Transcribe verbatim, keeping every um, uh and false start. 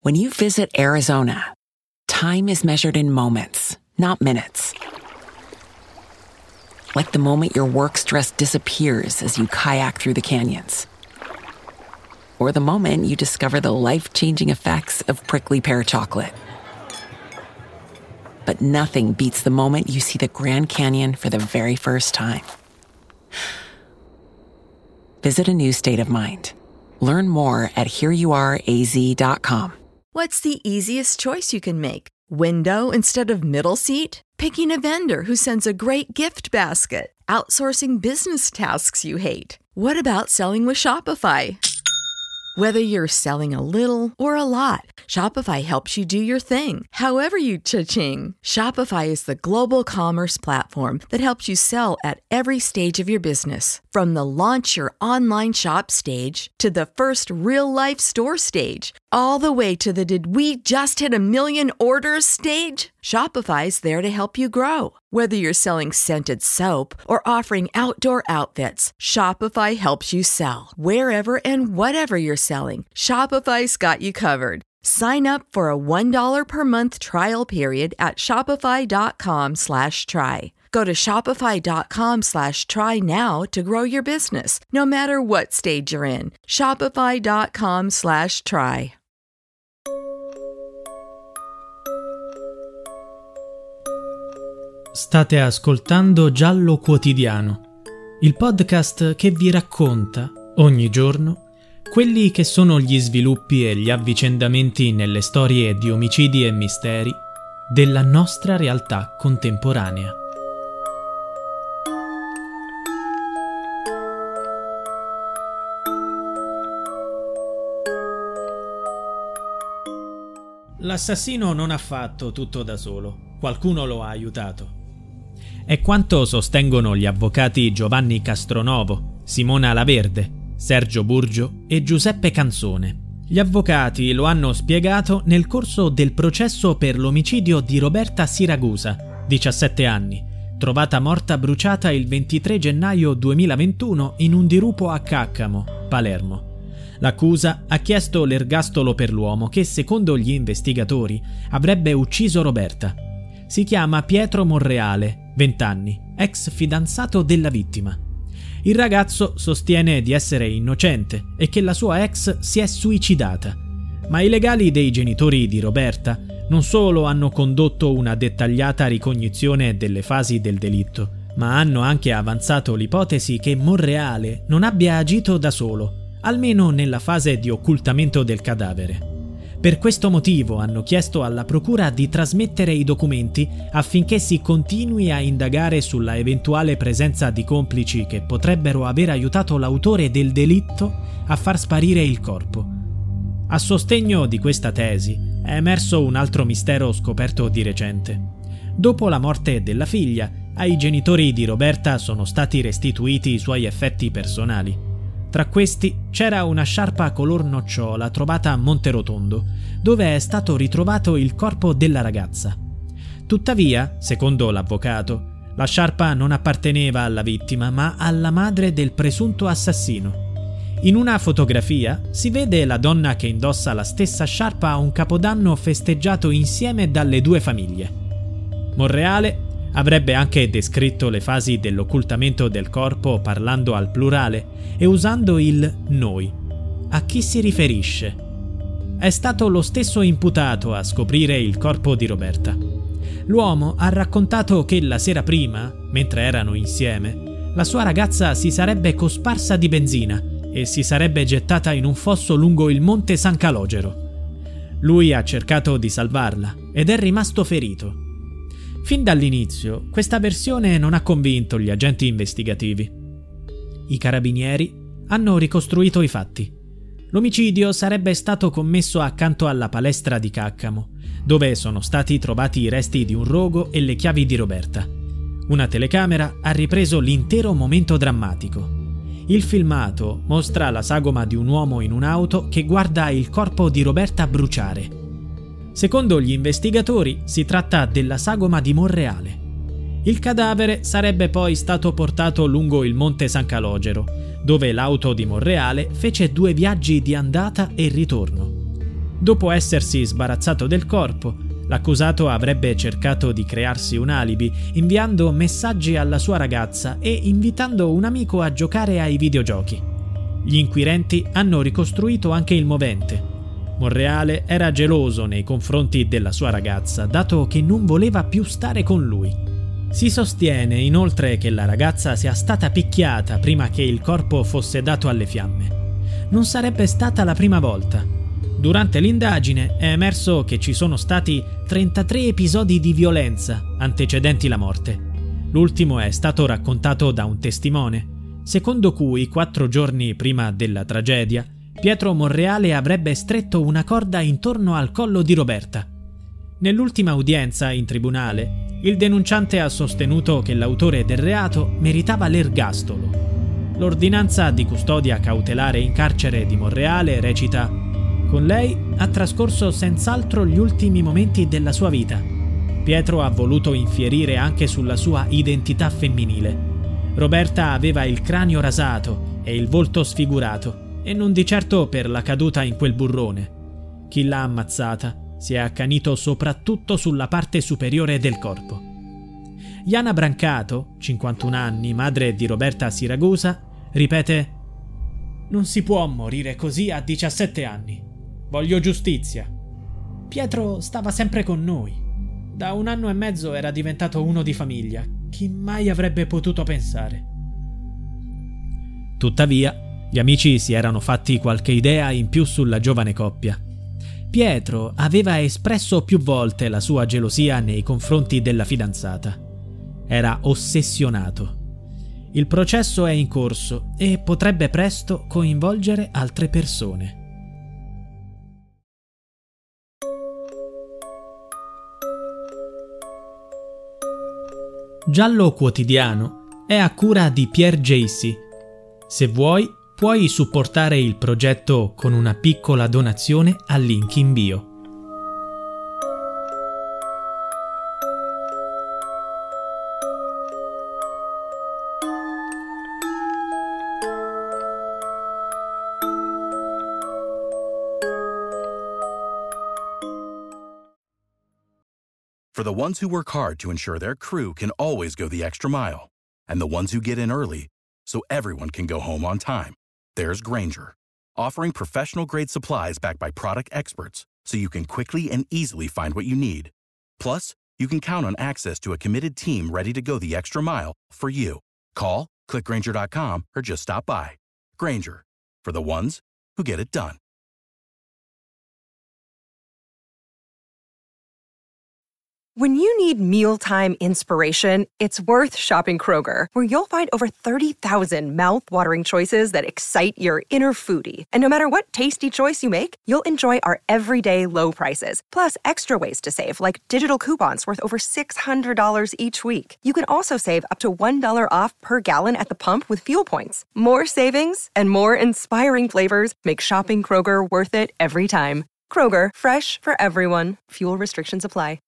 When you visit Arizona, time is measured in moments, not minutes. Like the moment your work stress disappears as you kayak through the canyons. Or the moment you discover the life-changing effects of prickly pear chocolate. But nothing beats the moment you see the Grand Canyon for the very first time. Visit a new state of mind. Learn more at here you are a z dot com. What's the easiest choice you can make? Window instead of middle seat? Picking a vendor who sends a great gift basket? Outsourcing business tasks you hate? What about selling with Shopify? Whether you're selling a little or a lot, Shopify helps you do your thing, however you cha-ching. Shopify is the global commerce platform that helps you sell at every stage of your business. From the launch your online shop stage to the first real-life store stage, all the way to the did we just hit a million orders stage? Shopify's there to help you grow. Whether you're selling scented soap or offering outdoor outfits, Shopify helps you sell. Wherever and whatever you're selling, Shopify's got you covered. Sign up for a one dollar per month trial period at shopify.com slash try. Go to shopify.com slash try now to grow your business, no matter what stage you're in. Shopify.com slash try. State ascoltando Giallo Quotidiano, il podcast che vi racconta, ogni giorno, quelli che sono gli sviluppi e gli avvicendamenti nelle storie di omicidi e misteri della nostra realtà contemporanea. L'assassino non ha fatto tutto da solo, qualcuno lo ha aiutato. È quanto sostengono gli avvocati Giovanni Castronovo, Simona Laverde, Sergio Burgio e Giuseppe Canzone. Gli avvocati lo hanno spiegato nel corso del processo per l'omicidio di Roberta Siragusa, diciassette anni, trovata morta bruciata il ventitré gennaio duemilaventuno in un dirupo a Caccamo, Palermo. L'accusa ha chiesto l'ergastolo per l'uomo che, secondo gli investigatori, avrebbe ucciso Roberta. Si chiama Pietro Monreale, venti anni, ex fidanzato della vittima. Il ragazzo sostiene di essere innocente e che la sua ex si è suicidata, ma i legali dei genitori di Roberta non solo hanno condotto una dettagliata ricognizione delle fasi del delitto, ma hanno anche avanzato l'ipotesi che Monreale non abbia agito da solo, almeno nella fase di occultamento del cadavere. Per questo motivo hanno chiesto alla procura di trasmettere i documenti affinché si continui a indagare sulla eventuale presenza di complici che potrebbero aver aiutato l'autore del delitto a far sparire il corpo. A sostegno di questa tesi è emerso un altro mistero scoperto di recente. Dopo la morte della figlia, ai genitori di Roberta sono stati restituiti i suoi effetti personali. Tra questi c'era una sciarpa color nocciola trovata a Monterotondo, dove è stato ritrovato il corpo della ragazza. Tuttavia, secondo l'avvocato, la sciarpa non apparteneva alla vittima, ma alla madre del presunto assassino. In una fotografia si vede la donna che indossa la stessa sciarpa a un capodanno festeggiato insieme dalle due famiglie. Monreale avrebbe anche descritto le fasi dell'occultamento del corpo parlando al plurale e usando il noi. A chi si riferisce? È stato lo stesso imputato a scoprire il corpo di Roberta. L'uomo ha raccontato che la sera prima, mentre erano insieme, la sua ragazza si sarebbe cosparsa di benzina e si sarebbe gettata in un fosso lungo il monte San Calogero. Lui ha cercato di salvarla ed è rimasto ferito. Fin dall'inizio, questa versione non ha convinto gli agenti investigativi. I carabinieri hanno ricostruito i fatti. L'omicidio sarebbe stato commesso accanto alla palestra di Caccamo, dove sono stati trovati i resti di un rogo e le chiavi di Roberta. Una telecamera ha ripreso l'intero momento drammatico. Il filmato mostra la sagoma di un uomo in un'auto che guarda il corpo di Roberta bruciare. Secondo gli investigatori si tratta della sagoma di Monreale. Il cadavere sarebbe poi stato portato lungo il monte San Calogero, dove l'auto di Monreale fece due viaggi di andata e ritorno. Dopo essersi sbarazzato del corpo, l'accusato avrebbe cercato di crearsi un alibi, inviando messaggi alla sua ragazza e invitando un amico a giocare ai videogiochi. Gli inquirenti hanno ricostruito anche il movente. Monreale era geloso nei confronti della sua ragazza, dato che non voleva più stare con lui. Si sostiene inoltre che la ragazza sia stata picchiata prima che il corpo fosse dato alle fiamme. Non sarebbe stata la prima volta. Durante l'indagine è emerso che ci sono stati trentatré episodi di violenza antecedenti la morte. L'ultimo è stato raccontato da un testimone, secondo cui quattro giorni prima della tragedia Pietro Monreale avrebbe stretto una corda intorno al collo di Roberta. Nell'ultima udienza in tribunale, il denunciante ha sostenuto che l'autore del reato meritava l'ergastolo. L'ordinanza di custodia cautelare in carcere di Monreale recita: con lei ha trascorso senz'altro gli ultimi momenti della sua vita. Pietro ha voluto infierire anche sulla sua identità femminile. Roberta aveva il cranio rasato e il volto sfigurato, e non di certo per la caduta in quel burrone. Chi l'ha ammazzata si è accanito soprattutto sulla parte superiore del corpo. Jana Brancato, cinquantuno anni, madre di Roberta Siragusa, ripete: non si può morire così a diciassette anni. Voglio giustizia. Pietro stava sempre con noi. Da un anno e mezzo era diventato uno di famiglia. Chi mai avrebbe potuto pensare? Tuttavia, gli amici si erano fatti qualche idea in più sulla giovane coppia. Pietro aveva espresso più volte la sua gelosia nei confronti della fidanzata. Era ossessionato. Il processo è in corso e potrebbe presto coinvolgere altre persone. Giallo Quotidiano è a cura di Pierre Jacy. Se vuoi, puoi supportare il progetto con una piccola donazione al link in bio. For the ones who work hard to ensure their crew can always go the extra mile, and the ones who get in early so everyone can go home on time, there's Grainger, offering professional-grade supplies backed by product experts so you can quickly and easily find what you need. Plus, you can count on access to a committed team ready to go the extra mile for you. Call, click Grainger dot com, or just stop by. Grainger, for the ones who get it done. When you need mealtime inspiration, it's worth shopping Kroger, where you'll find over thirty thousand mouth-watering choices that excite your inner foodie. And no matter what tasty choice you make, you'll enjoy our everyday low prices, plus extra ways to save, like digital coupons worth over six hundred dollars each week. You can also save up to one dollar off per gallon at the pump with fuel points. More savings and more inspiring flavors make shopping Kroger worth it every time. Kroger, fresh for everyone. Fuel restrictions apply.